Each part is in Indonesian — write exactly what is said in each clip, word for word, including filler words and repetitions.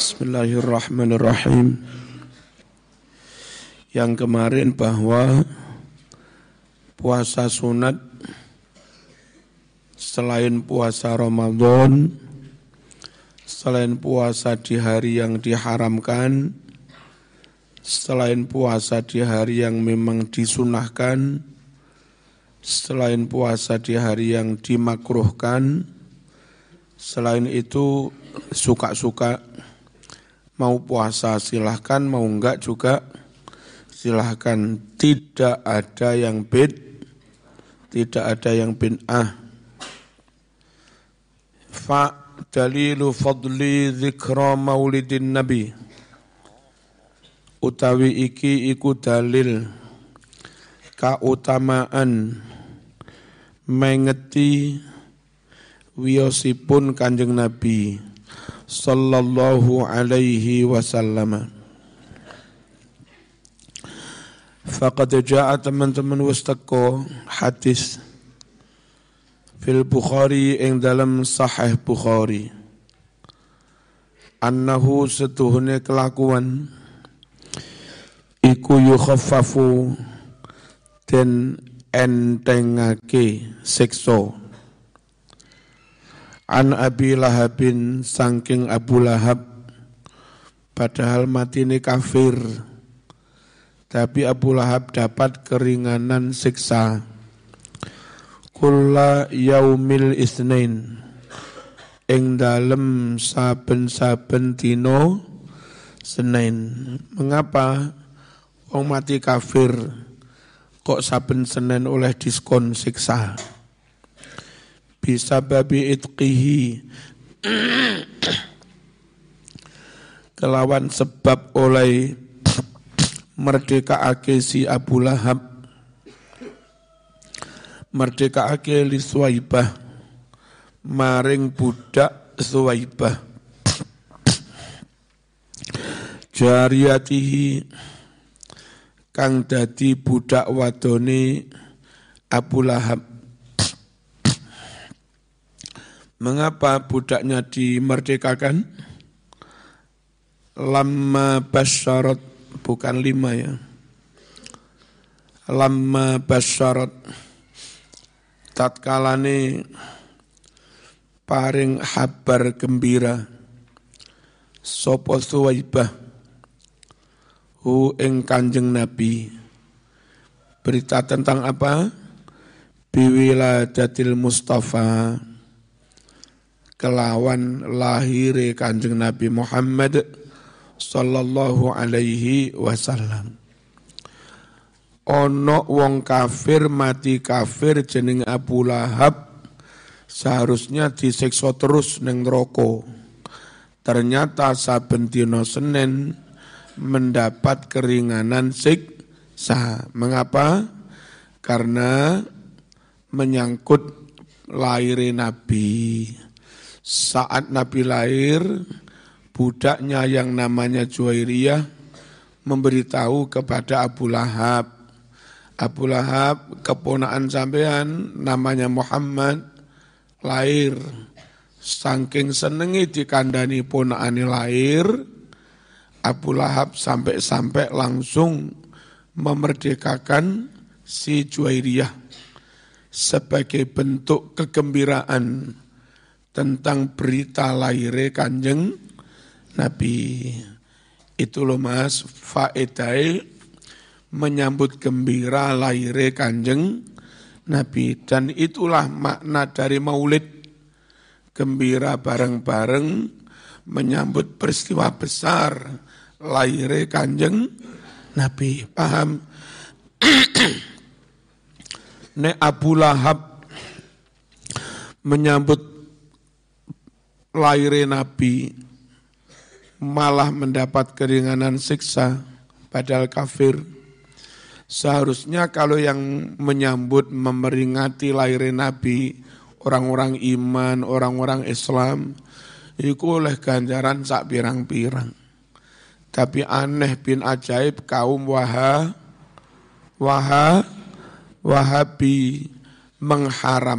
Bismillahirrahmanirrahim. Yang kemarin bahwa puasa sunat selain puasa Ramadan, selain puasa di hari yang diharamkan, selain puasa di hari yang memang disunahkan, selain puasa di hari yang dimakruhkan, selain itu suka-suka, mau puasa silahkan, mau enggak juga silahkan. Tidak ada yang bid, tidak ada yang bid'ah. Fa dalilu fadli dzikra maulidin nabi. Utawi iki iku dalil kautamaan mengeti wiyosipun Kanjeng Nabi sallallahu alaihi wasallam. Faqad jaa teman-teman wastaqo hadis fil Bukhari ing dalam Sahih Bukhari annahu setuhune kelakuan iku yukhaffafu den entengake siksa an Abi Lahabin saking Abu Lahab, padahal matine kafir, tapi Abu Lahab dapat keringanan siksa. Kulla yaumil isnain ing dalem saben-saben dina Senin. Mengapa wong mati kafir kok saben Senin oleh diskon siksa? Bisa babi itqihi kelawan sebab oleh merdekaake si Abu Lahab, merdekaake li Suwaibah maring budak Suwaibah jariyatihi kang dadi budak wadone Abu Lahab. Mengapa budaknya dimerdekakan? Lamma basyarat, bukan lima ya. Lamma basyarat, tatkalane paring habar gembira sapa Suwaibah hu ing Kanjeng Nabi. Berita tentang apa? Biwiladatil Mustafa, kelawan lahire Kanjeng Nabi Muhammad sallallahu alaihi wasallam. Ono wong kafir mati kafir jeneng Abu Lahab, seharusnya disiksa terus ning neraka. Ternyata saben dina Senin mendapat keringanan siksa. Mengapa? Karena menyangkut lahire Nabi. Saat Nabi lahir, budaknya yang namanya Juwairiyah memberitahu kepada Abu Lahab, Abu Lahab keponakan sampean namanya Muhammad lahir. Saking senengi dikandani ponakane lahir, Abu Lahab sampai-sampai langsung memerdekakan si Juwairiyah sebagai bentuk kegembiraan tentang berita lahirnya Kanjeng Nabi. Itu loh mas, faedai menyambut gembira lahirnya Kanjeng Nabi. Dan itulah makna dari maulid, gembira bareng-bareng menyambut peristiwa besar lahirnya Kanjeng Nabi. Paham? Nek Abu Lahab menyambut lahirnya Nabi malah mendapat keringanan siksa padahal kafir. Seharusnya kalau yang menyambut memperingati lahirnya Nabi orang-orang iman, orang-orang Islam, itu oleh ganjaran sak pirang-pirang. Tapi aneh bin ajaib kaum waha waha Wahabi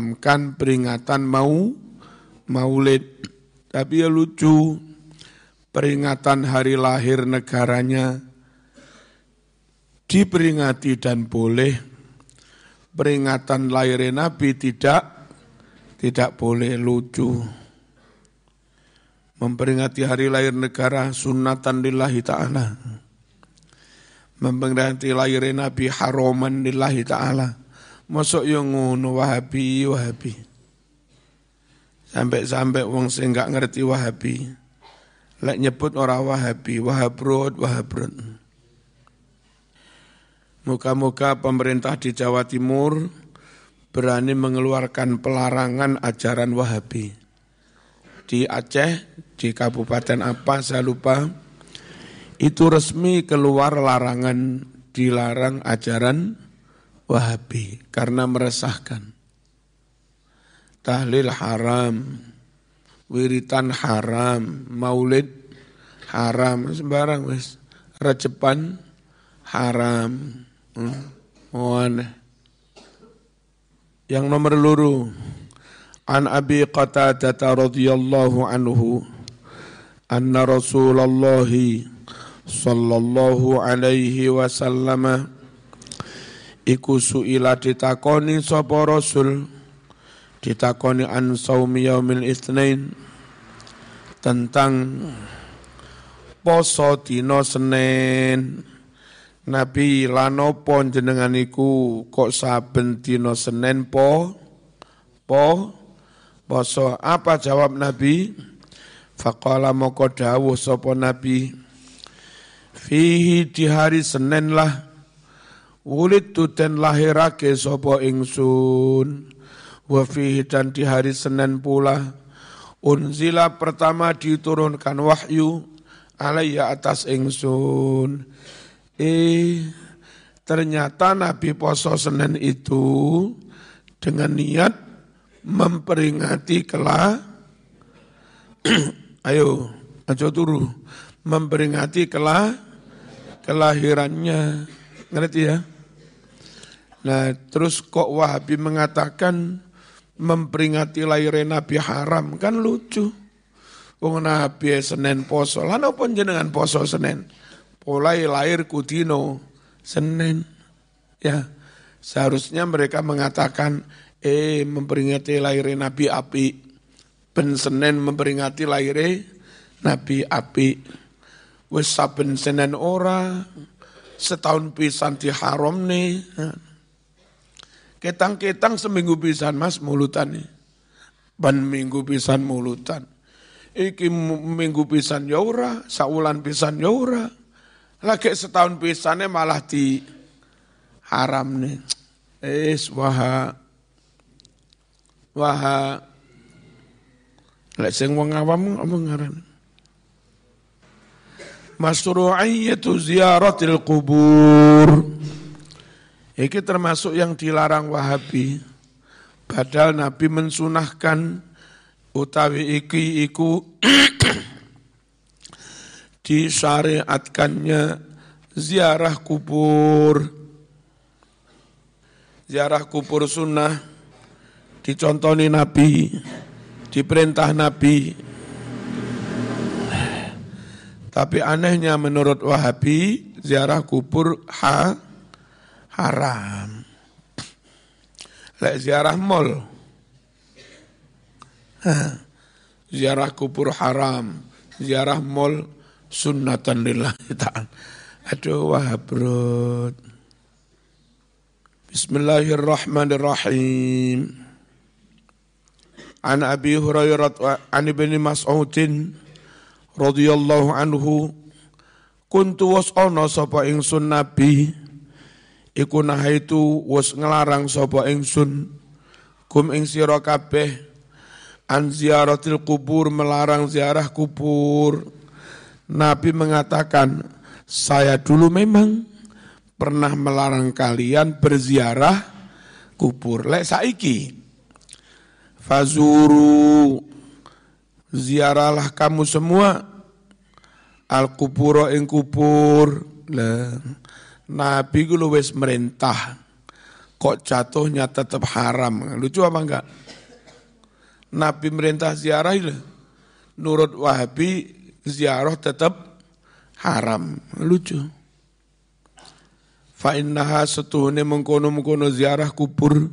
mengharamkan peringatan mau maulid. Tapi ya lucu, peringatan hari lahir negaranya diperingati dan boleh, peringatan lahir Nabi tidak tidak boleh, lucu. Memperingati hari lahir negara sunnatan lillahi ta'ala. Memperingati lahir Nabi haraman lillahi ta'ala. Masuk yang ngono Wahabi, Wahabi. Sampai-sampai wong sing gak ngerti Wahabi. Lek nyebut orang Wahabi, Wahabrod, Wahabrod. Moga-moga pemerintah di Jawa Timur berani mengeluarkan pelarangan ajaran Wahabi. Di Aceh, di kabupaten apa saya lupa, itu resmi keluar larangan, dilarang ajaran Wahabi karena meresahkan. Tahlil haram, wiritan haram, maulid haram, sembarang wis. Rejepan haram. Hmm. Oh, aneh. Yang nomor luru, an Abi Qatadah radhiyallahu anhu anna Rasulullah sallallahu alaihi wasallam iku suila ditakoni sapa Rasul, ditakoni an saumi yaumil Itsnain, tentang poso dina Senin. Nabi lan opo jenengan iku kok saben dina Senin po po poso? Apa jawab Nabi? Faqala moko dawuh sapa Nabi, fihi di hari Senin lah wulidtu den lahirake sapa ingsun, wa fihi dan di hari Senin pula unzila pertama diturunkan wahyu alaiya atas ingsun. Eh, ternyata Nabi poso Senin itu dengan niat memperingati kelah, ayo, aja turu, memperingati kelah, kelahirannya, ngerti ya? Nah, terus kok Wahabi mengatakan memperingati lahirnya Nabi haram, kan lucu. Wong Nabi Senin poso, lan apa jenengan poso Senin? Mulai lahir kudino Senin, ya seharusnya mereka mengatakan eh memperingati lahirnya Nabi api, ben Senin memperingati lahirnya Nabi api, wis saben Senin ora, setahun pisan di haram nih, ketang-ketang seminggu pisan mas mulutan nih, ban minggu pisan mulutan, iki minggu pisan ya ora, saulan pisan ya ora. Lagi setahun pisannya malah di haram nih. Es waha waha. Lek sing wong awam apa ngaran? Masru'iyyatu ziyaratil qubur. Iki termasuk yang dilarang Wahabi. Padahal Nabi mensunahkan utawi iki iku disyariatkannya ziarah kubur. Ziarah kubur sunnah dicontoni Nabi, diperintah Nabi. Tapi anehnya menurut Wahabi ziarah kubur ha, haram. Lek ziarah mall, ziarah kubur haram, ziarah mall sunnatan lillahi ta'ala. Aduh Wahabrod. Bismillahirrahmanirrahim. An Abi Hurairah an Ibni Mas'udin radhiyallahu anhu kuntu was'ana sapa ingsun Nabi iku nahaitu was ngelarang sapa ingsun kum ing sira kabeh an ziaratil kubur, melarang ziarah kubur. Nabi mengatakan, saya dulu memang pernah melarang kalian berziarah kubur. Lek saiki, fazuru, ziarahlah kamu semua al-kuburo ing kubur. Lah, Nabi ku wis merintah, kok jatuhnya tetap haram. Lucu apa enggak? Nabi merintah ziarah, nurut Wahabi ziarah tetap haram. Lucu. Fa innaha setuhune mengkono-mengkono ziarah kubur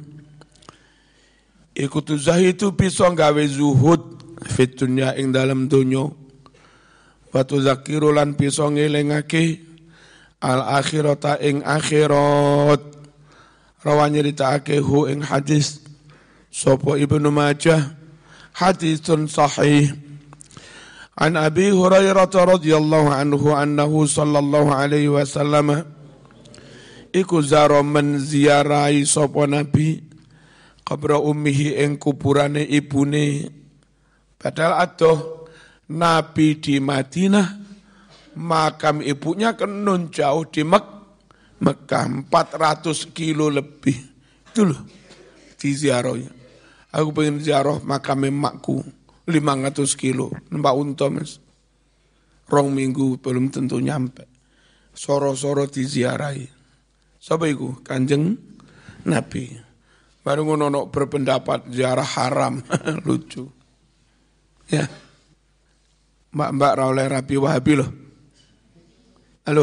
iku tuzahitu bisa gawe zuhud fit dunya ing dalam dunya wa tuzakiru lan bisa ngelingake al akhirata ing akhirat. Rawan nyeritakake hu ing hadis sapa Ibnu Majah hadisun sahih an Abi Hurairah radhiyallahu anhu annahu sallallahu alaihi wasallam iku zaro menziarahi sapa Nabi qabra ummihi ing kuburane ibune. Padahal adoh Nabi di Madinah, makam ibunya kan nun jauh di Mek Mekah empat ratus kilo lebih. Itu loh di ziarahnya. Aku pengen ziarah makam emakku lima ratus kilo, numpak unta Mas. Rong minggu belum tentu nyampe. Soro-soro diziarahi. Sapa iku? Kanjeng Nabi. Baru ngono berpendapat ziarah haram. Lucu. Ya. Mbak-mbak ra oleh rapi Wahabi loh. Halo.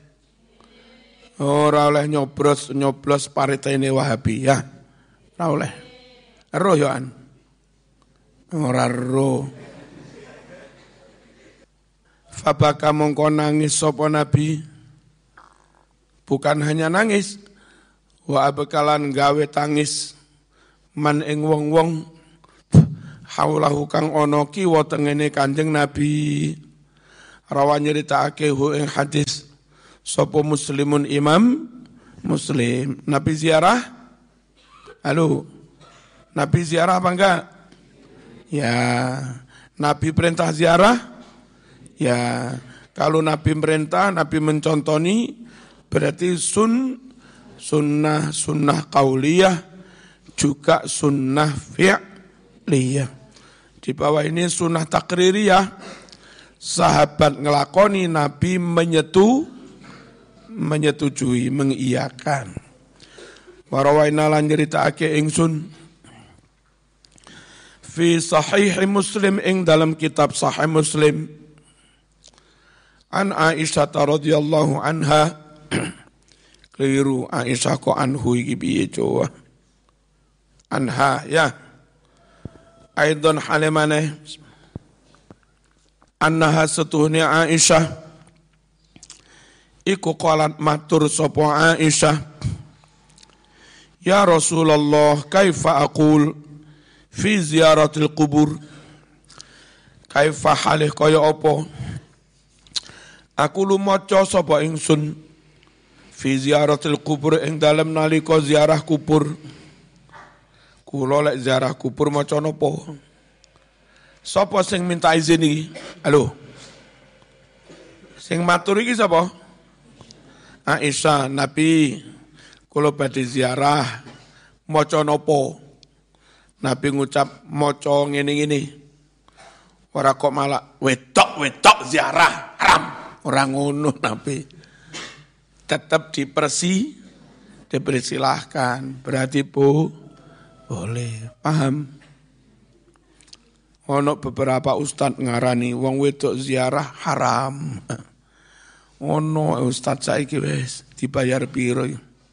Ora oleh nyoblos nyoblos paritene Wahabi ya. Ra oleh. Ero yo an. Ora ero. Fabaka mongko nangis sapa Nabi. Bukan hanya nangis, wa abekalan gawe tangis man ing wong-wong haulahu kang ana kiwa tengene Kanjeng Nabi. Rawan nyritakake hu ing hadis sapa Muslimun Imam Muslim. Nabi ziarah? Halo. Nabi ziarah apa enggak? Ya. Nabi perintah ziarah? Ya. Kalau Nabi perintah, Nabi mencontoni berarti sun sunnah sunnah qauliyah juga sunnah fi'liyah. Di bawah ini sunnah takririyah, sahabat ngelakoni, Nabi menyetu menyetujui, mengiyakan. Warawaina lan nyritakake ingsun fi sahih Muslim ing dalam kitab Sahih Muslim an Aisyah radhiyallahu anha. Keliru, Aisyah kok anhu iki piye coba. Anha ya. Aidon halimane annaha setuhni Aisyah iku qalat matur sapa Aisyah, ya Rasulullah kaifa aqul fi ziyaratil qubur. Kaifa halih kaya apa aku lumaca sapa ingsun fi ziyaratil kubur ing dalem nalika ziarah kubur. Kula lek ziarah kubur maca napa? Sapa sing minta izin iki? Halo. Sing matur iki sapa? Aisyah, Nabi kula badhe ziarah maca napa? Nabi ngucap maca ngene-ngene. Ora kok malah wedok-wedok ziarah haram. Ora ngono Nabi. Tetap dipersi, dipersilahkan. Berarti bu, boleh, paham. Ono beberapa ustad ngarani wong wedok ziarah haram. Ono ustad saiki wis dibayar piro.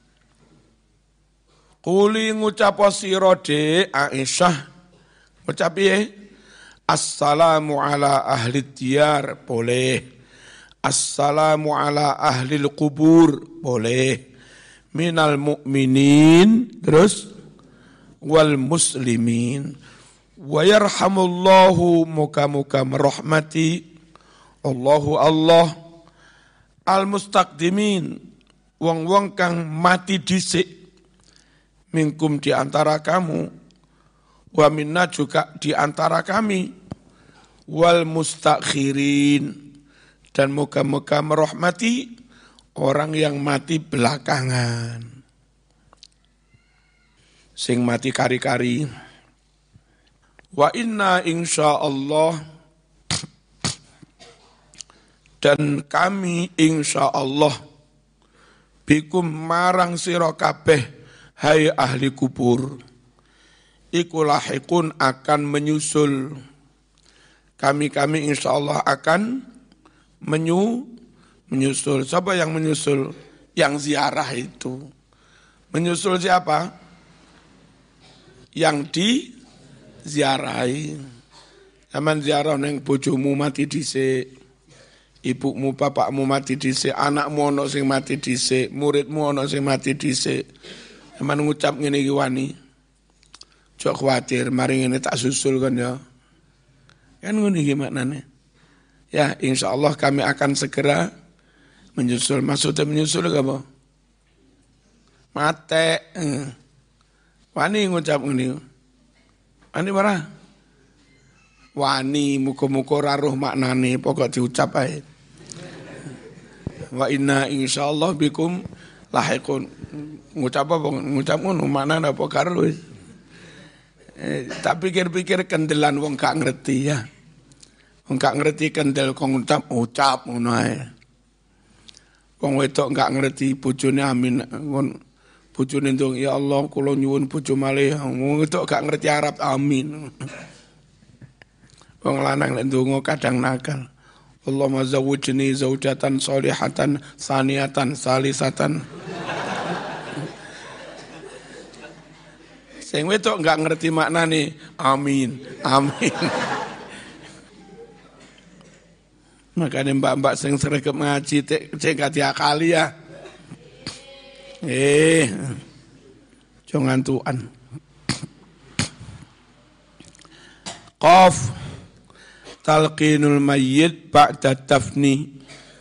Kuli ngucap sira de Aisyah. Ngucap piye? Assalamu ala ahli diyar, boleh. Assalamu ala ahlil kubur, boleh. Minal mu'minin, terus wal muslimin. Wa yarhamullahu muka-muka merahmati Allahu Allah al mustaqdimin, wong-wong kang mati dhisik minkum di antara kamu, wa minna juga di antara kami, wal mustakhirin, dan moga-moga merahmati orang yang mati belakangan. Sing mati kari-kari. Wa inna insyaallah, dan kami insyaallah bikum marang sira kabeh hai ahli kubur iku lahikun akan menyusul kami-kami insya Allah akan menyu, menyusul. Siapa yang menyusul? Yang ziarah itu. Menyusul siapa? Yang diziarahi. Zaman ziarah neng bojomu mati dhisik, ibumu, bapakmu mati dhisik, anakmu ana sing mati dhisik, muridmu ana sing mati dhisik. Zaman ngucap ngene iki wani. Jok khawatir mari ngene tak susul kan ya. Kan ngono iki maknane. Ya, insyaallah kami akan segera menyusul. Maksudnya menyusul apa? Mate. Wani ngucap ngene. Wani marah. Wani muga-muga ora roh maknane pokok diucap ae. Wa inna insyaallah bikum lahiqun. Ngucap apa? Ngucap ngono maknane apa karo wis. Eh, tak pikir-pikir kendelan wong gak ngerti ya. Wong gak ngerti kendel kok ngucap ucap ngono ae. Wong wedok gak ngerti bojone amin ngon bojone ndong ya Allah kula nyuwun bojo malih. Wong wedok gak ngerti Arab amin. Wong lanang nek ndonga kadang nakal. Allahumma zawwijni zaujatan sholihatan saniyatan salisatan. Sing wedok enggak ngerti maknane amin, amin. Makanya mbak-mbak sing sregep ngaji cek gak diakali ya. Eh. Jangan tuan. Qaf talqinul mayyit ba'da tafni.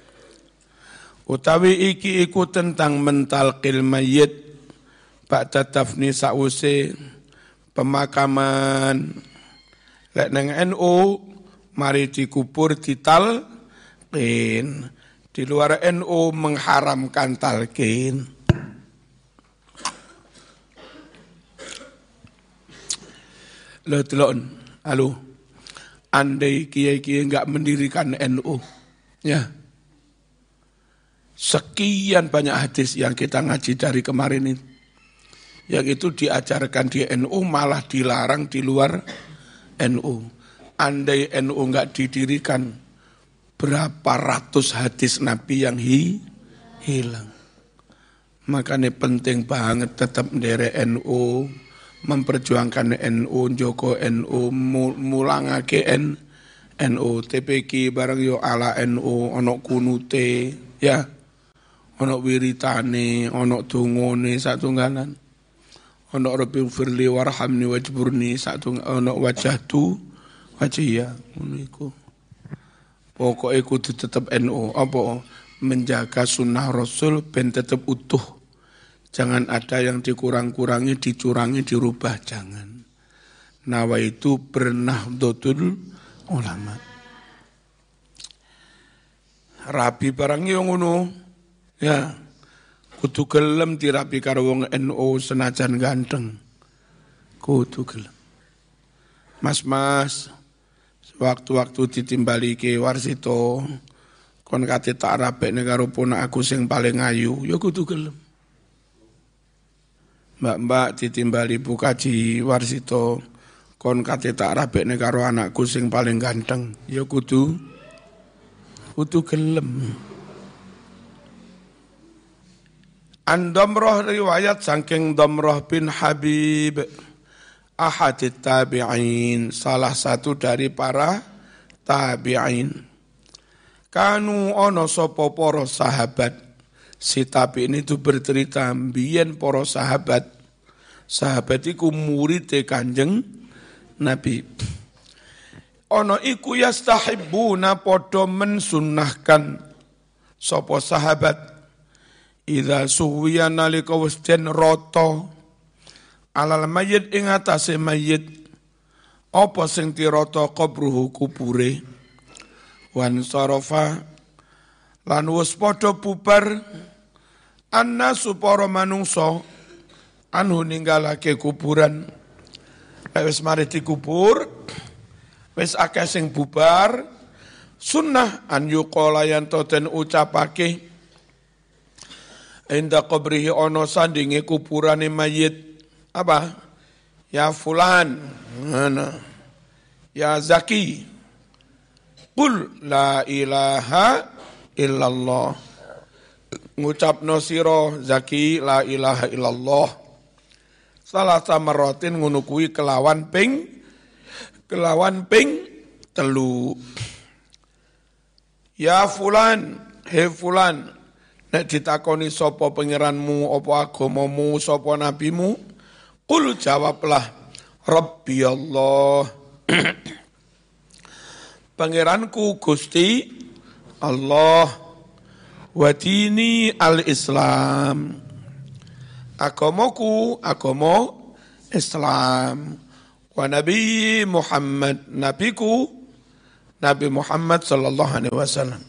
Utawi iki iku tentang mentalqil mayyit ba'da tafni sause pemakaman. Lek nang N U mari dikubur ditalqin. Di luar N U mengharamkan talqin. Lo telon, halo. Andai kiai-kiai enggak mendirikan N U, ya. Sekian banyak hadis yang kita ngaji dari kemarin ini. Yang itu diajarkan di N U malah dilarang di luar N U. Andai N U enggak didirikan, berapa ratus hadis Nabi yang hi, hilang. Makanya penting banget tetap mendere N U. Memperjuangkan N U, Joko N U, mulangake N U, T P K bareng yo ala N U, ono kunute, ya, ono wiritane, ono dungone satunggalan, ono Rabbi firli warhamni wajburni satung, ono wajah tu, wajah ya, uniku. Pokoknya kudu tetap N U, apa menjaga sunnah Rasul ben tetap utuh. Jangan ada yang dikurang-kurangi, dicurangi, dirubah, jangan. Nawa itu bernahdotul ulama. Rabi barang yang ngono, ya, kudu gelem dirapi karo wong N U senajan ganteng. Kudu gelem. Mas-mas, waktu-waktu ditimbali ke Warsito, kon kate tak rapekne karo ponak aku sing paling ayu, ya kudu gelem. Mbak-mbak ditimbali Bu Kaji Warsito kon kate tak rabekne karo anakku sing paling ganteng ya kudu kudu gelem. An Damrah riwayat saking Damrah bin Habib ahadit tabi'in, salah satu dari para tabi'in. Kanu ono sapa para sahabat. Si tabi'in itu bercerita mbiyen para sahabat. Sahabat iku murid Kanjeng Nabi. Ono iku yastahibbuna padha mensunnahkan sapa sahabat idza suwiya nalika wis den rata alal mayyit ing atase mayyit apa sing dirata qabruhu kubure wan sarafa lan wis padha bubar annasu para manungsa anu ninggalake kuburan. Wis mari dikubur wis akeh sing bubar, sunnah an yuqala yen to den ucapake inda qabrihi ana sandinge kuburane mayit apa ya fulan ana ya Zaki Qul la ilaha illallah. Ngucapno sira zaki la ilaha illallah. Salah samaratin ngono kuwi kelawan ping kelawan ping telu. Ya fulan, he fulan, nek ditakoni sapa pangeranmu, apa agamamu, sapa nabimu, qul jawablah Rabbi Allah. Pangeranku Gusti Allah, wa dini al-Islam. Agamaku agama Islam. Wa Nabi Muhammad, nabiku Nabi Muhammad sallallahu alaihi wasallam.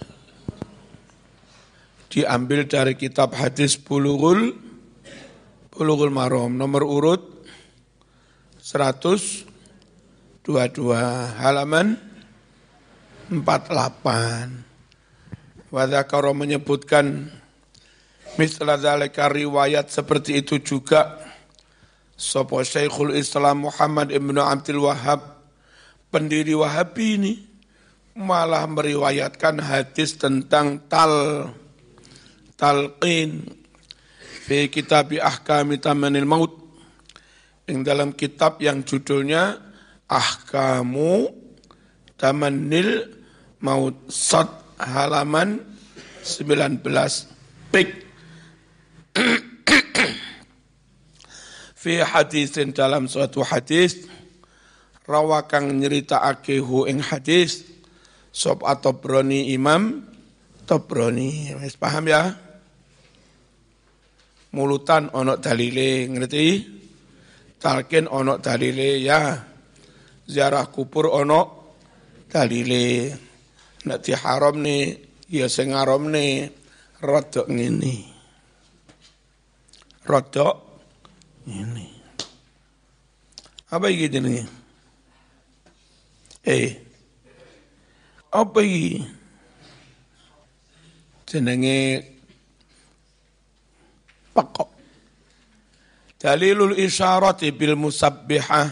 Diambil dari kitab hadis Bulughul Bulughul Maram nomor urut seratus dua puluh dua halaman empat puluh delapan. Wa dzakara menyebutkan misla dzalika riwayat seperti itu juga sapa Syekhul Islam Muhammad Ibnu Abdul Wahhab, pendiri Wahabi ini malah meriwayatkan hadis tentang tal talqin fi kitab ahkami tamanil maut, yang dalam kitab yang judulnya Ahkamu Tamanil Maut, sat halaman sembilan belas pik. Fi hadisin, dalam suatu hadis, rawakang nyeritakake hu ing hadis sop atau Tabrani, Imam Tabrani. Wis paham ya? Mulutan ono dalile, ngerti? Talqin ono dalile ya. Ziarah kubur ono dalile. Nek di haram nih, ya sing haram nih rodok ngene. Rodok ngene. Apa iki jenenge? Eh apa iki? Jenenge pekok. Dalilul isyarati bil musabbihah.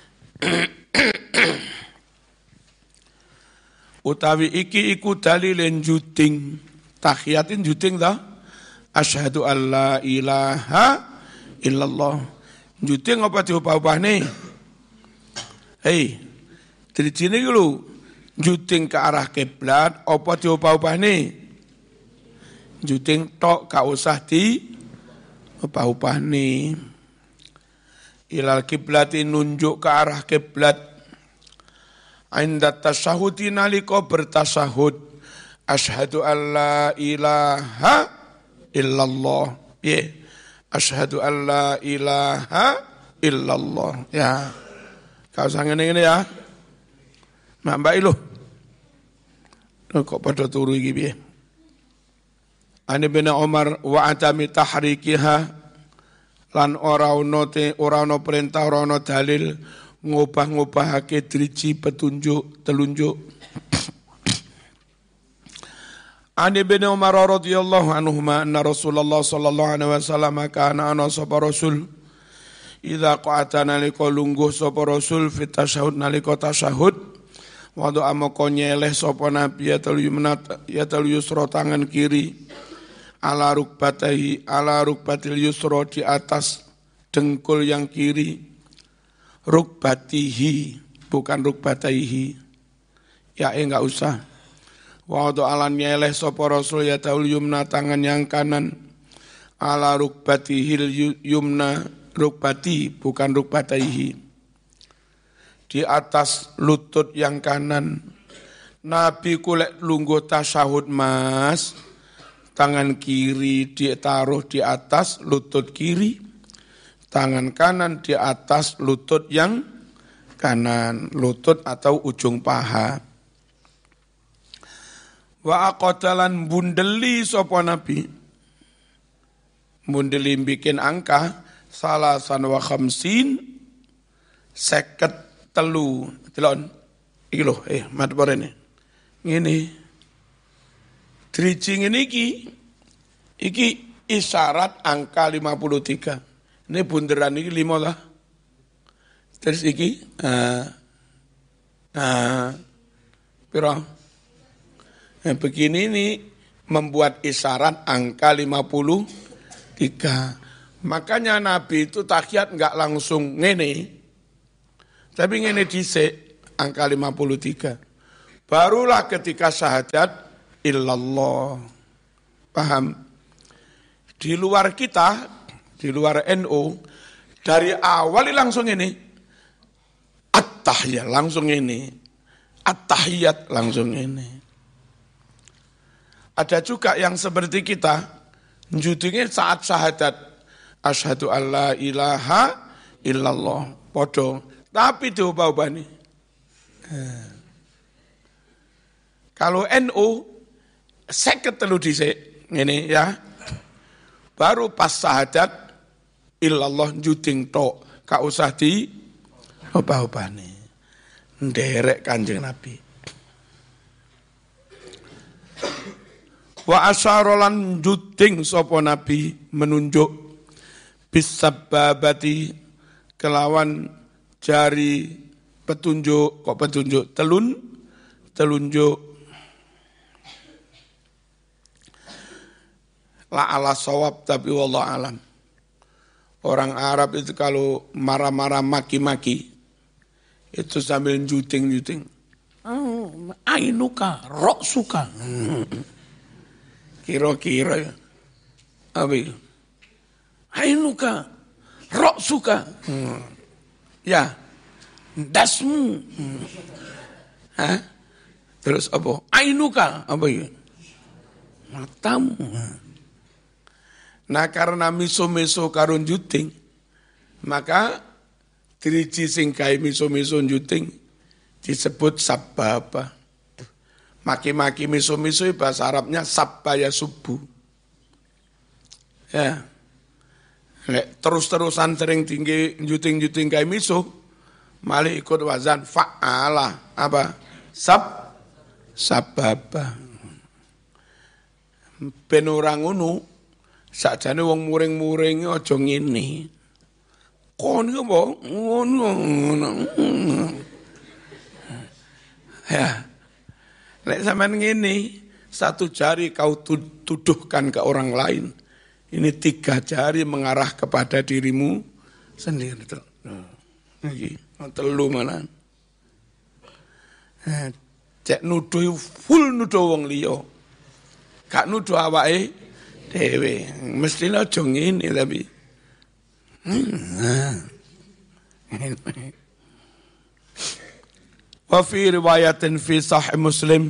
Utawi iki iku dalilin juting. Tahiyatin juting ta? Asyhadu an la ilaha illallah. Juting apa diupah-upahne? Hei, dirijine iki lho. Juting ke arah kiblat apa diupah-upahne? Juting tok gak usah di upah-upahne. Ilal kiblati, nunjuk ke arah kiblat. Inda tasyahudi, nalika bertasyahud. Asyhadu an la ilaha illallah. Ya, asyhadu an la ilaha illallah. Ya, kau usah ngene-ngene ya. Mak mbak ilo. Kok pada turu iki piye? Ani bin Umar wa atami tahrikiha, lan ora ono te ora ono perintah, ora ono dalil ngubah-ngubahake driji petunjuk telunjuk. Ani bin Umar radhiyallahu anhuma anna Rasulullah sallallahu alaihi wasallam kana ana sapa rasul idza qa'ata nalika lungguh sapa rasul fit tasyahud nalika tasyahud. Wadu amoko nyeleh sapa nabi ya talu yumnat ya talu yusra, tangan kiri, ala rukbatahi ala rukbatil yusra, di atas dengkul yang kiri, rukbatihi bukan rukbataihi, ya eh enggak usah. Wadu alan nyeleh sapa rasul ya talu yumna, tangan yang kanan, ala rukbatihil yumna, rukbati bukan rukbataihi, di atas lutut yang kanan. Nabi kulek lungguh tasyahud mas, tangan kiri ditaruh di atas lutut kiri, tangan kanan di atas lutut yang kanan, lutut atau ujung paha. Wa aqatalan bundeli sapa Nabi, bundeli bikin angka salasan wa khamsin, seket telu, telon, iki lho, eh, matporene, ngene, driji ngene iki, iki isyarat angka lima puluh tiga, ini bunderan iki lima lah, terus iki, ah, ah, piro, Nah, begini ini membuat isyarat angka lima puluh tiga. Makanya Nabi itu tahiyat enggak langsung ngene. Tapi ngene dhisik angka lima puluh tiga. Barulah ketika syahadat illallah. Paham? Di luar kita, di luar N U, dari awal langsung ini. At-tahiyat langsung ini. At-tahiyat langsung ini. Ada juga yang seperti kita, judulnya saat syahadat, asyhadu alla ilaha illallah, podo, tapi diubah-ubah nih. Kalau N U, seket telu dhisik, ini ya, baru pas syahadat, illallah juding tok, gak usah di ubah-ubah nih. Nderek Kanjeng Nabi. Wa asyarolan juding sopo Nabi menunjuk bisababati kelawan jari petunjuk, kok petunjuk telun telunjuk la ala sawab, tapi wallah alam. Orang Arab itu kalau marah-marah maki-maki itu sambil juting-juting. Oh, ainuka, rok suka. Kira-kira ya. Apa itu? Ainuka, rok suka. Hmm. Ya, dasmu. Hmm. Hah? Terus apa? Ainuka, apa itu? Matamu. Nah karena miso-miso karun juting, maka driji sing gawe miso-miso juting disebut sababa. Maki-maki miso-miso bahasa Arabnya sabbaya subuh. Ya. Lek terus-terusan sering tinggi juting-juting kayak miso, malah ikut wazan fa'ala, apa? Sab sababa. Ben ora ngono, sakjane wong muring-muring aja ngene. Kon iki apa? Ngono. Ya. Lek sampean ngene, satu jari kau tuduhkan ke orang lain. Ini tiga jari mengarah kepada dirimu sendiri. Iki, telu malah. Cek nuduh full nuduh wong liya. Gak nuduh awake dhewe. Mestine aja ngene tapi. Wa fi riwayatin fi sahih Muslim,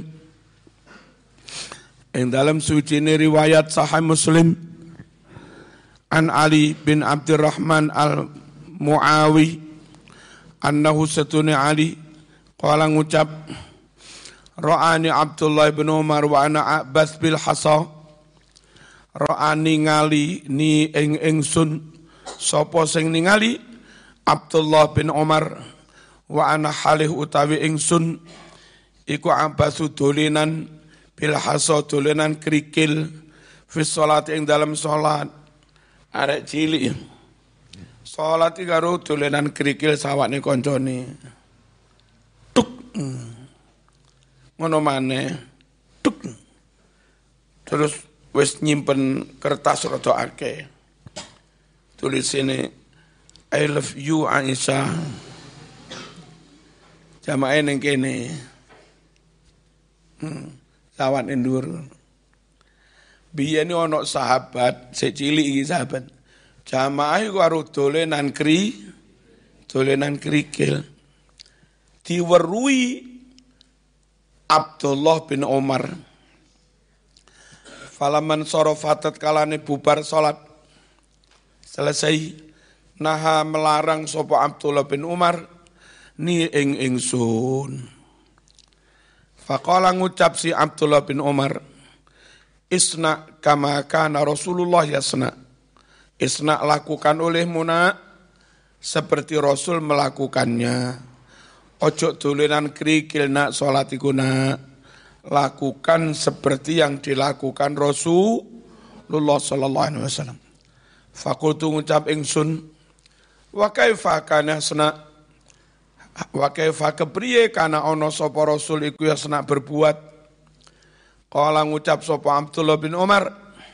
yang dalam suci ini riwayat sahih Muslim, an Ali bin Abdurrahman al-Muawi, annahu satuni Ali, qala ngucap, ra'ani Abdullah bin Umar wa ana a'bas bil hasa, ra'ani ngali ni ing ingsun, sapa sing ningali Abdullah bin Umar, wa ana halih utawi ingsun iku abasu dolenan bil hasa dolenan krikil fi salat ing dalam salat. Arek cilik salat iki karo dolenan krikil sawakne kancane. Tuk. Ngono maneh. Tuk. Terus wis nyimpen kertas rada akeh. Tulisine I love you Aisyah. Jamaah ning kene. Hmm, sawan endur. Biyen ana sahabat, sik cilik iki sahabat. Jamaah iku karo dolenan kri, dolenan krikil. Diweruhi Abdullah bin Umar. Falaman sorofatat kalane bubar salat. Selesai naha melarang sapa Abdullah bin Umar ni ing ingsun. Faqala ngucap si Abdullah bin Umar, isna kama kana Rasulullah yasna. Isna lakukan olehmu nak seperti Rasul melakukannya. Ojo dolenan krikil nak salat iku nak. Lakukan seperti yang dilakukan Rasulullah sallallahu alaihi wasallam. Faqultu ngucap ingsun, wa kaifa kana yasna? Wa kaifa kepriye kana ana sapa rasul iku yasna berbuat. Kala ngucap sapa Abdullah bin Umar,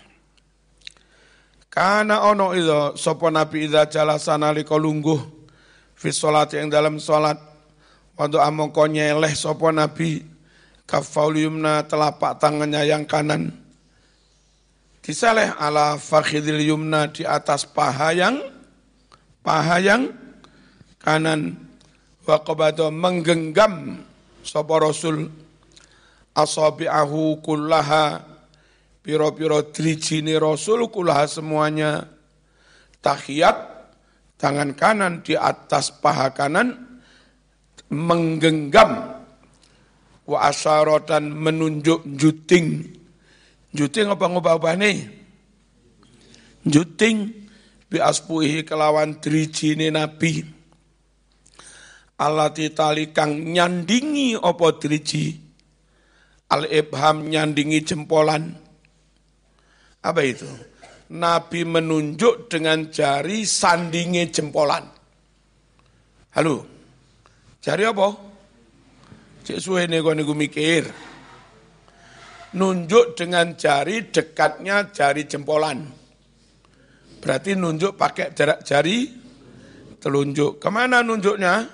kana ono idza sapa Nabi idza jalasa nalika lungguh fi sholati ing dalam salat waktu amangka nyeleh sapa Nabi kafaul yumna telapak tangannya yang kanan diseleh ala fakhidil yumna di atas paha yang paha yang kanan wa qabada menggenggam sapa Rasul asabi'ahu kullaha piro-piro drijine Rasul kullaha semuanya tahiyat tangan kanan di atas paha kanan menggenggam wa asyara dan menunjuk juting juting apa ngobah-obahne juting bi aspuhi kelawan drijine Nabi alati tali kang nyandingi apa driji al-ibham nyandingi jempolan. Apa itu? Nabi menunjuk dengan jari sandingi jempolan. Halo? Jari apa? Cik suwe nego nego mikir. Nunjuk dengan jari dekatnya jari jempolan. Berarti nunjuk pakai jarak jari telunjuk. Kemana nunjuknya?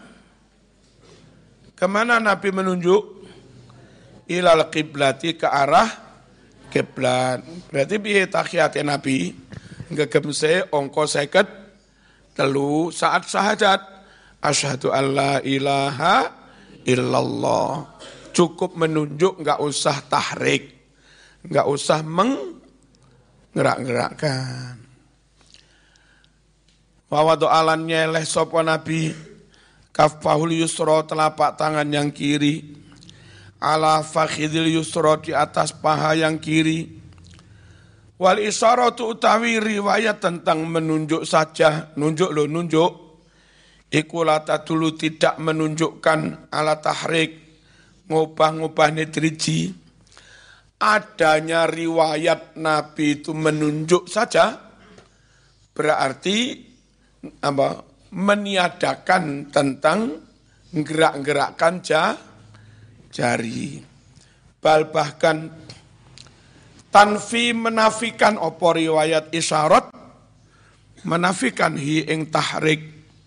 Kemana Nabi menunjuk? Ilal kiblati ke arah kiblat. Berarti piye tahiyate Nabi ngegemse angka seket telu saat syahadat asyhadu alla ilaha illallah. Cukup menunjuk, enggak usah tahrik, enggak usah menggerak-gerakkan. Wa wada'alan nyeleh sapa Nabi kafahul yusra telapak tangan yang kiri ala fakhidil yusra di atas paha yang kiri. Wal isyaratu utawi riwayat tentang menunjuk saja, nunjuk lo nunjuk. Iku lata dulu tidak menunjukkan ala tahrik, ngubah-ngubah netriji. Adanya riwayat Nabi itu menunjuk saja, berarti apa? Meniadakan tentang gerak-gerakkan jah, jari. Bal bahkan tanfi menafikan opo riwayat isyarat, menafikan hi ing tahrik.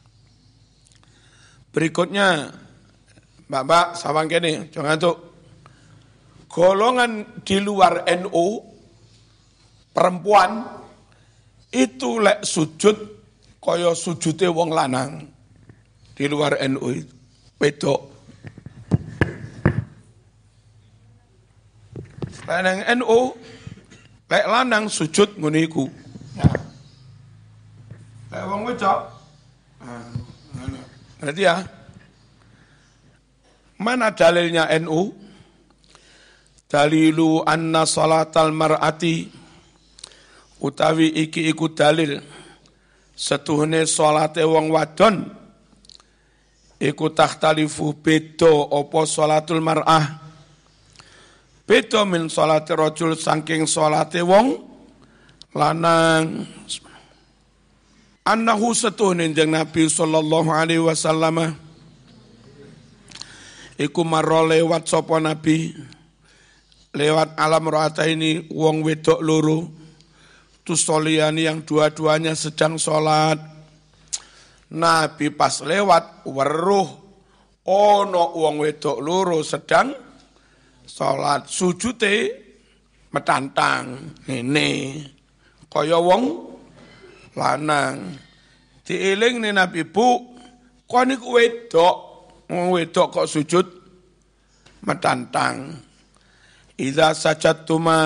Berikutnya, Mbak-mbak, sawang kene, jangan tuh. Golongan di luar N U, perempuan, itu lek sujud, kaya sujute wong lanang. Di luar N U itu, wedok. Lanang N U, lek lanang sujud ngono iku. Lek wong wedok, berarti ya, mana dalilnya N U? Dalilu anna salatal mar'ati, utawi iki iku dalil setuhune salate wong wadon iku takhtalifu beda apa salatul mar'ah. Beda min salate rajul saking salate wong lanang. Annahu setuhune njeng Nabi sallallahu alaihi wasallam iku marra lewat sapa Nabi lewat alam rata ini wong wedok loro tusoliani yang dua-duanya sedang sholat. Nabi pas lewat weruh ono wong wedok loro sedang sholat, sujute metantang ngene kaya wong lanang. Dieling nih Nabi, bu kok niku wedok, wong wedok kok sujud metantang. Idza sajadtuma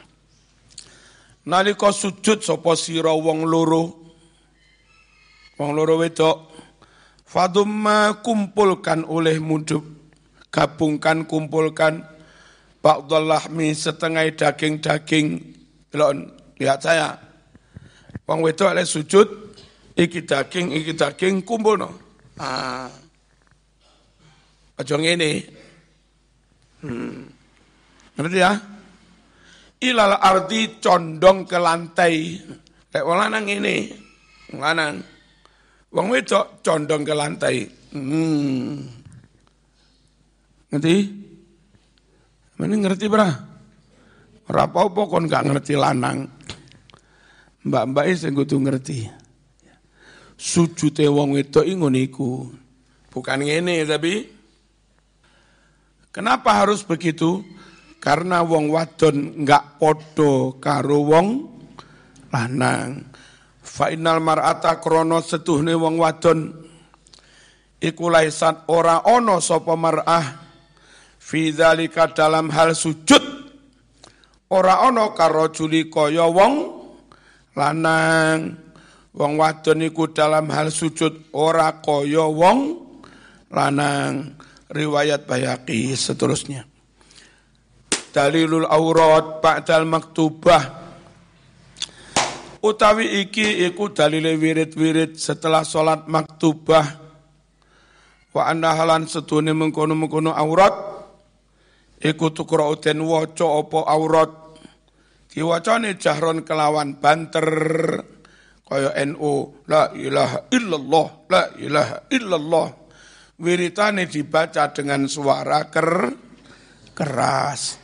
nalika sujud sapa sira wong loro wong loro wedok fadumma kumpulkan oleh mudhub gabungkan kumpulkan ba'dhal lahmi setengah daging-daging. Lihat saya wong wedok lek sujud iki daging iki daging kumpulno. Ah aja ngene. Hmm ngerti ya? Ilal ardi condong ke lantai. Lek wong lanang ngene, wong lanang. Wong wedok condong ke lantai. Hmm. Ngerti? Mana ngerti berah? Ora apa-apa kon gak ngerti lanang. Mbak-mbak sing kudu ngerti. Sujute wong wedok ngono iku. Bukan ngene tapi kenapa harus begitu? Karena wong wadon enggak podo karo wong lanang. Fa innal mar'ata krana setuhne wong wadon iku laisat ora ana sapa mar'ah fi dzalika dalam hal sujud ora ana karo juli kaya wong lanang. Wong wadon iku dalam hal sujud ora kaya wong lanang. Riwayat Baihaqi seterusnya. Dalilul aurat ba'dal maktubah. Utawi iki iku dalile wirid-wirid setelah salat maktubah. Wa anna halan setune mengkono-mengkono aurat iku tukra uten waca apa aurat. Diwacane jahron kelawan banter kaya N U la ilaha illallah la ilaha illallah. Wiritane dibaca dengan suara ker keras.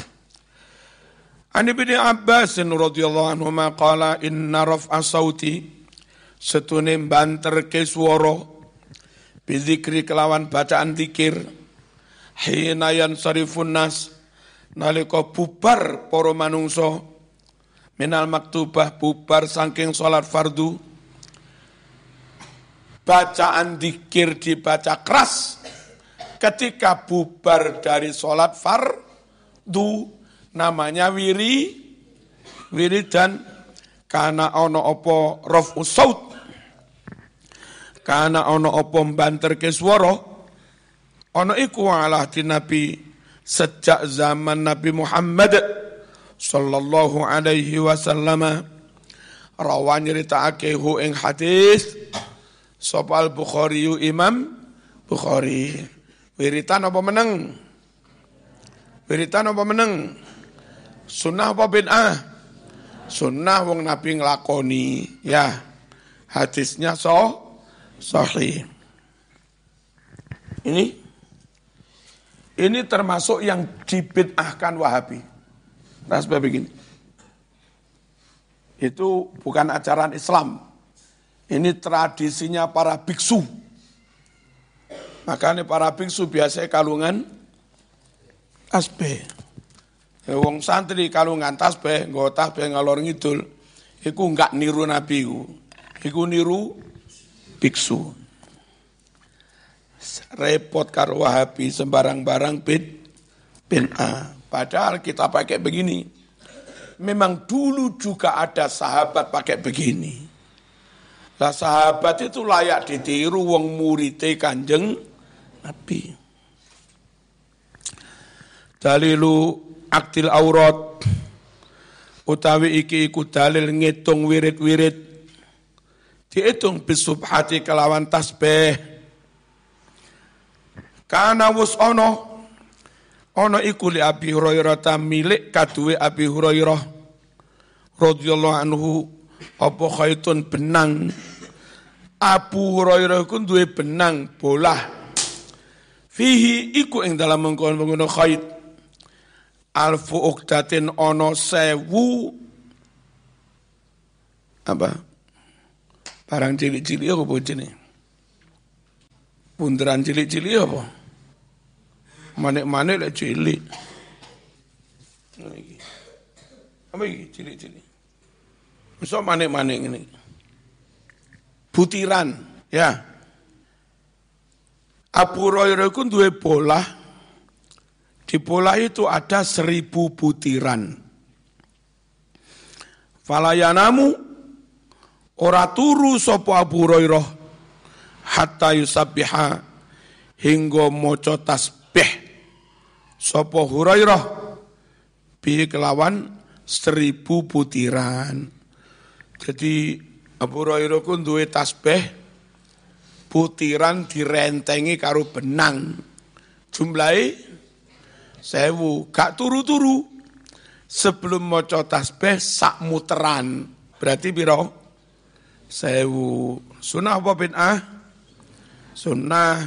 Ani bin Abbas radhiyallahu anhu maqala inna raf'a sauti setune banter ke swara bizikri kelawan bacaan zikir hina yansarifun nas nalika bubar para manungsa minal maktubah bubar saking salat fardu bacaan zikir dibaca keras ketika bubar dari salat fardu namanya wiri wiridan kana ana apa raf'u saut kana ana apa banterke swara ana iku ala Nabi sejak zaman Nabi Muhammad sallallahu alaihi wasallam rawan nyritakake hu ing hadis sapa al-Bukhari Imam Bukhari wiritan apa meneng wiritan apa meneng sunnah apa bid'ah? Sunnah wong Nabi nglakoni. Ya, hadisnya so, sahih. Ini ini termasuk yang dibid'ahkan Wahabi. Nah, sebab begini. Itu bukan ajaran Islam. Ini tradisinya para biksu. Makanya para biksu biasanya kalungan tasbih. Wong santri kalungan tasbih, nggo tasbih ngalor ngidul, iku enggak niru Nabi iku. Iku niru biksu. Repot karo Wahabi sembarang-barang bid bid'ah. Padahal kita pakai begini. Memang dulu juga ada sahabat pakai begini. Lah sahabat itu layak ditiru wong murite Kanjeng Nabi. Dalilu aktil aurat utawi iki iku dalil ngitung wirid-wirid diitung bisubhati kelawan tasbih kana wus ana ana iku li Abi Hurairah ta milik kaduwe Abi Hurairah radhiyallahu anhu apa khaitun benang Abu Hurairah ku duwe benang bolah fihi iku ing dalam mengkono-mengkono khait alfu ukdatin ono sewu apa barang cilik-cilik apa jenis bunderan cilik-cilik apa manik-manik lek cilik apa iki cilik-cilik iso manik-manik ngene butiran ya Abu Hurairah ku duwe bolah. Di bola itu ada seribu butiran. Falayanamu ora turu sapa Abu Hurairah hatta yusabbiha hingga maca tasbih sapa Hurairah bi kelawan seribu butiran. Jadi Abu Hurairah ku duwe tasbih butiran direntengi karo benang. Jumlahe sewu, gak turu-turu. Sebelum maca tasbih sak muteran. Berarti piro? Sewu. Sunnah apa bid'ah? Sunnah.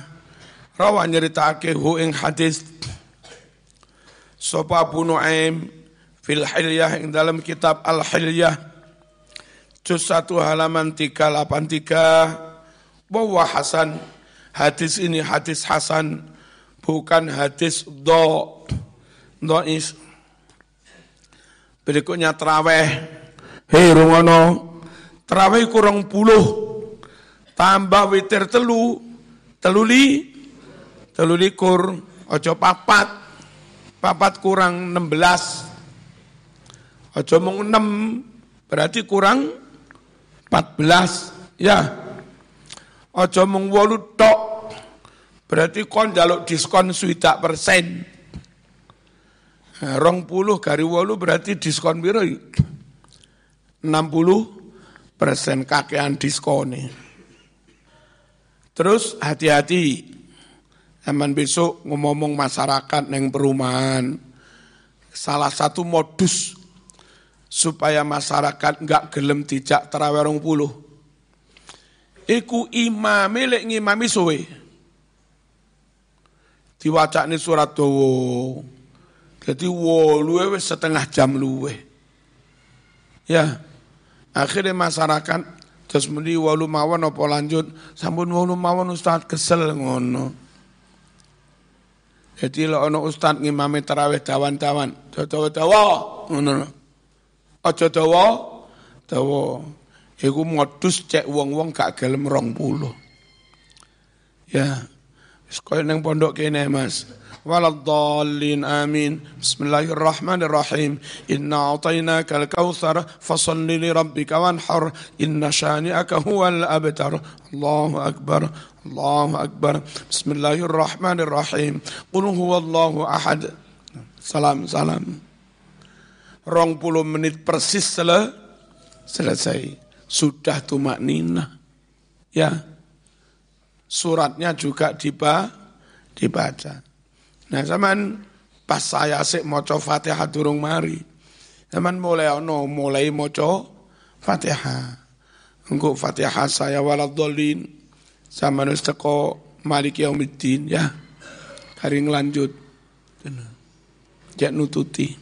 Rawan nyeritakake hu ing hadis sapa Abu Nuaim Fil Hilyah ing dalam kitab Al Hilyah juz satu halaman tiga ratus delapan puluh tiga bahwa hasan, hadis ini hadis hasan bukan hadis do dois. Berikutnya tarawih. Hei rungono, tarawih kurang puluh tambah witir telu teluli telulikur ojo papat papat kurang enam belas ojo mung enam berarti kurang empat belas ya. Ojo mung wolu tok berarti kon njaluk diskon swidak persen. Rong puluh kari wolu berarti diskon piro? enam puluh persen kakean diskone. Terus hati-hati, zaman besok ngomong masyarakat neng perumahan. Salah satu modus supaya masyarakat enggak gelem dijak tarawih rong puluh. Iku imame lek ngimami suwe. Diwacane surat dawa. Jadi woluwe wis setengah jam luwe. Ya, akhirnya masyarakat terus muni wolu mawon apa lanjut, sampun wolu mawon Ustaz kesel ngono. Jadi lek ana Ustaz ngimami tarawih dawan-dawan, dawa-dawa ngono. Aja dawa, dawa. Iku modus cek wong-wong gak gelem rong puluh. Ya, wis koyo ning pondok kene Mas. Waladhdallin amin. Bismillahirrahmanirrahim. Inna a'tainakal kautsar fasholli li rabbika wanhar inna syani'aka huwal abtar. Allahu akbar. Allahu akbar. Bismillahirrahmanirrahim. Qul huwallahu ahad. Salam salam. Rong puluh menit persis sele, selesai. Sudah tumakninah. Ya. Suratnya juga diba, dibaca. Nah, zaman pas saya asik maca Fatihah durung mari. Zaman mulai ono mulai maca Fatihah. Engko Fatihah saya waladhdallin. Zaman wis teko Maliki Yaumiddin ya. Kari nglanjut. Jak nututi.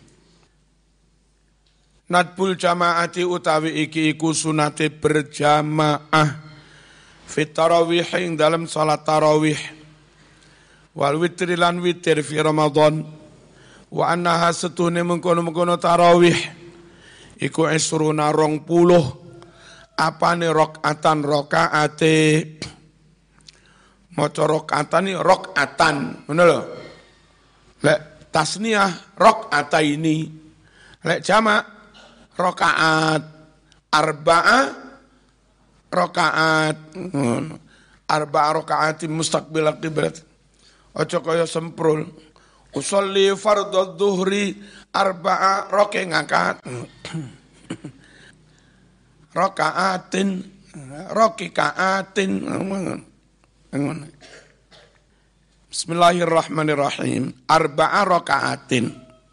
Nadbul jamaati utawi iki iku sunate berjamaah fit tarawih ing dalam salat tarawih. Wal witri lan witir fi Ramadan wa annaha setune mengkono-mengkono tarawih iku isruna rong puluh apane rakaatan rakaate maca rakaatan rakaatan ngono lho. Lek tasniyah rakaataini, lek jamak rakaat arba'a rakaat ngono. Arba'a rakaatin mustaqbil qiblat. Ojo kaya semprul. Usolli fardhu dhuhri arba'a raka'at. Raka'atin raka'atin. Bismillahirrahmanirrahim. Arba'a raka'atin.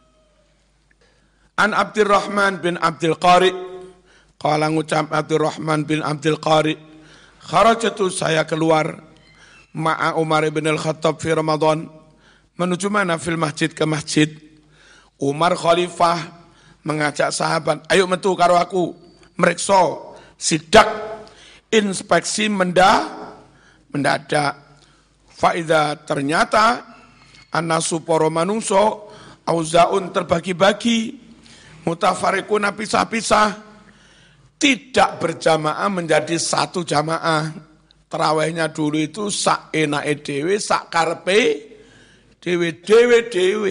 An Abdurrahman bin Abdul Qari. Qala ngucap Abdurrahman bin Abdul Qari. Kharajatu saya keluar ma'a Umar bin Al-Khattab fi Ramadan. Menuju mana? Fil masjid, ke masjid. Umar khalifah mengajak sahabat, ayo metu karo aku. Meriksa, sidak, inspeksi mendah, mendadak. Faida ternyata annasu para manungso auzaun terbagi-bagi, mutafarriquna pisah-pisah, tidak berjamaah menjadi satu jamaah. Tarawihnya dulu itu sak enake dhewe, sak karepe dhewe dhewe dhewe.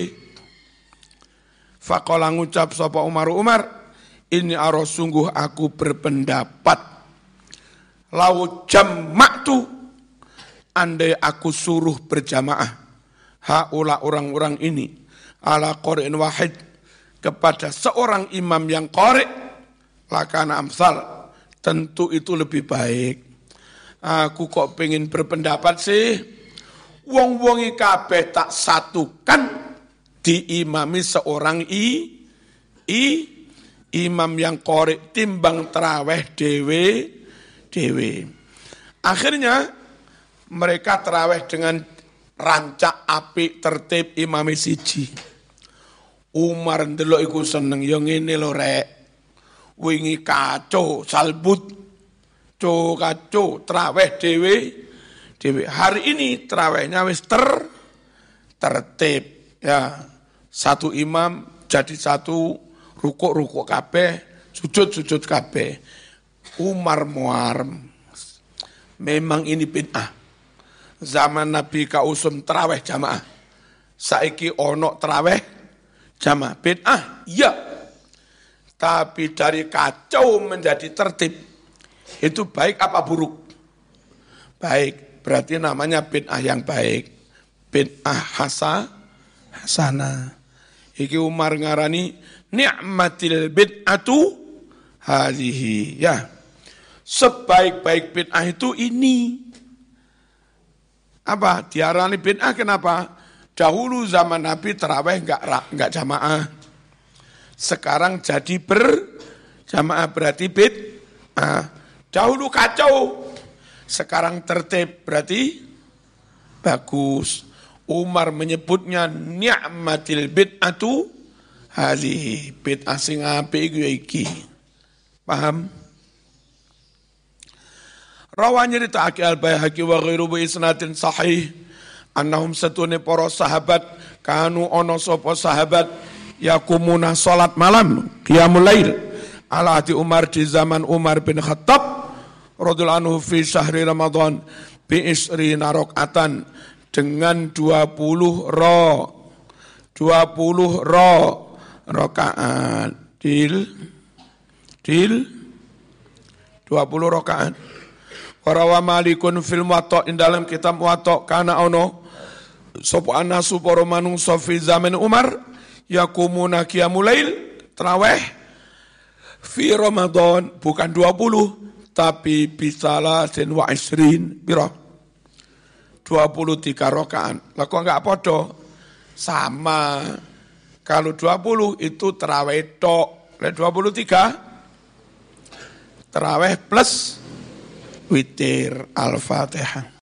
Faqala ngucap sapa Umar Umar, ini aro sungguh aku berpendapat lau jama'tu andai aku suruh berjamaah haula orang-orang ini ala qari'in wahid kepada seorang imam yang qari' lakana amsal, tentu itu lebih baik. Aku kok pengen berpendapat sih, wong-wongi kabeh tak satukan diimami seorang i, i imam yang qari timbang tarawih dewe dewe. Akhirnya mereka tarawih dengan rancak apik tertib imami siji. Umar ndelok iku seneng ya ngene lho rek. Wingi kacau salbut, co kacau traweh dhewe dhewe. Hari ini trawehnya wis ter tertib ya. Satu imam jadi satu rukuk-rukuk kabeh, sujud-sujud kabeh. Umar muarem. Memang ini bid'ah. Zaman Nabi kausum traweh jamaah. Saiki ono traweh jamaah bid'ah, iya. Tapi dari kacau menjadi tertib, itu baik apa buruk? Baik, berarti namanya bid'ah yang baik. Bid'ah hasa, hasanah. Iki Umar ngarani, ni'matil bid'atu hadhihi. Ya, sebaik-baik bid'ah itu ini. Apa? Diarani bid'ah kenapa? Dahulu zaman Nabi terawih enggak, enggak jamaah. Sekarang jadi berjamaah berarti bid'ah. Dahulu kacau, sekarang tertib berarti bagus. Umar menyebutnya ni'matil bid'atu hadhihi. Bid'ah sing apik iki. Paham? Rawanya dita'aki al-Baihaqi wa ghairu bi isnadin sahih. Annahum satune para sahabat kanu ono sapa sahabat yakumuna salat malam qiyamul lail ala ati Umar di zaman Umar bin Khattab radhiyallahu anhu fi syahri Ramadan bi isrina rakaatan dengan dua puluh ro dua puluh ro rakaat dil dil dua puluh rakaat. Warawa Malikun fil Muwatta in dalam kitab Muwatta kana ono sapa anasu para manungsa fi zaman Umar yakumuna qiyamul lail tarawih fi Ramadan bukan dua puluh tapi bisalasin wa isrin pira dua puluh tiga rakaat. Lah kok enggak padha? Sama. Kalau dua puluh itu tarawih tok. Lah dua puluh tiga tarawih plus witir Al-Fatihah.